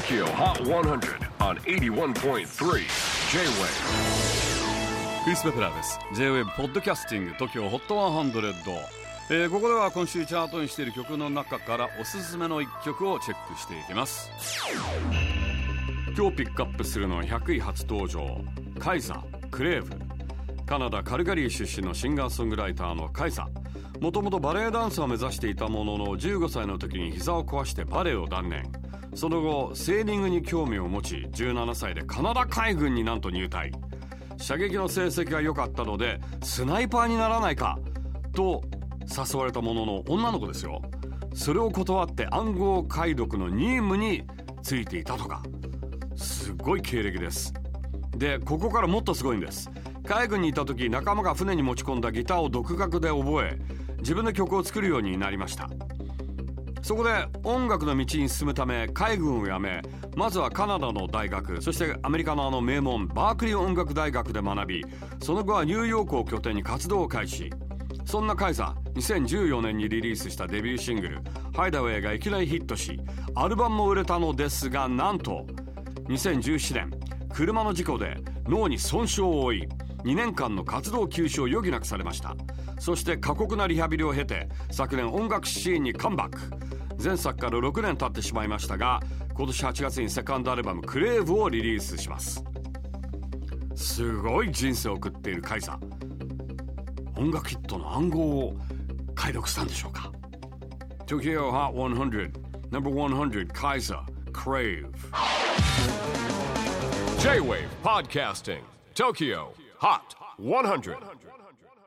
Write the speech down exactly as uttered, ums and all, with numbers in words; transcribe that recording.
Tokyo Hot one hundred on エイティワンポイントスリー J-Wave クリス・ベプラーです。 J-Wave ポッドキャスティング Tokyo Hot ワンハンドレッド、えー、ここでは今週チャートにしている曲の中からおすすめのいっきょくをチェックしていきます。今日ピックアップするのはひゃくい初登場、カイザ・クレーブ。カナダカルガリー出身のシンガーソングライターのカイザ。もともとバレエダンサーを目指していたもののじゅうごさいの時に膝を壊してバレエを断念。その後セーリングに興味を持ちじゅうななさいでカナダ海軍になんと入隊。射撃の成績が良かったのでスナイパーにならないかと誘われたものの女の子ですよ。それを断って暗号解読の任務についていたとか。すごい経歴です。でここからもっとすごいんです。海軍にいた時仲間が船に持ち込んだギターを独学で覚え自分で曲を作るようになりました。そこで音楽の道に進むため海軍を辞め、まずはカナダの大学、そしてアメリカのあの名門バークリー音楽大学で学び、その後はニューヨークを拠点に活動を開始。そんなカイザ、にせんじゅうよねんにリリースしたデビューシングルハイダウェイがいきなりヒットし、アルバムも売れたのですが、なんとにせんじゅうななねん車の事故で脳に損傷を負いにねんかんの活動休止を余儀なくされました。そして過酷なリハビリを経て昨年音楽シーンにカムバック。前作からろくねん経ってしまいましたが、今年はちがつにセカンドアルバムクレーブをリリースします。すごい人生を送っているカイザ。音楽ヒットの暗号を解読したんでしょうか。 Tokyo Hot ワンハンドレッド Number ワンハンドレッド Kaiza Crave J-Wave Podcasting Tokyo Hot ワンハンドレッド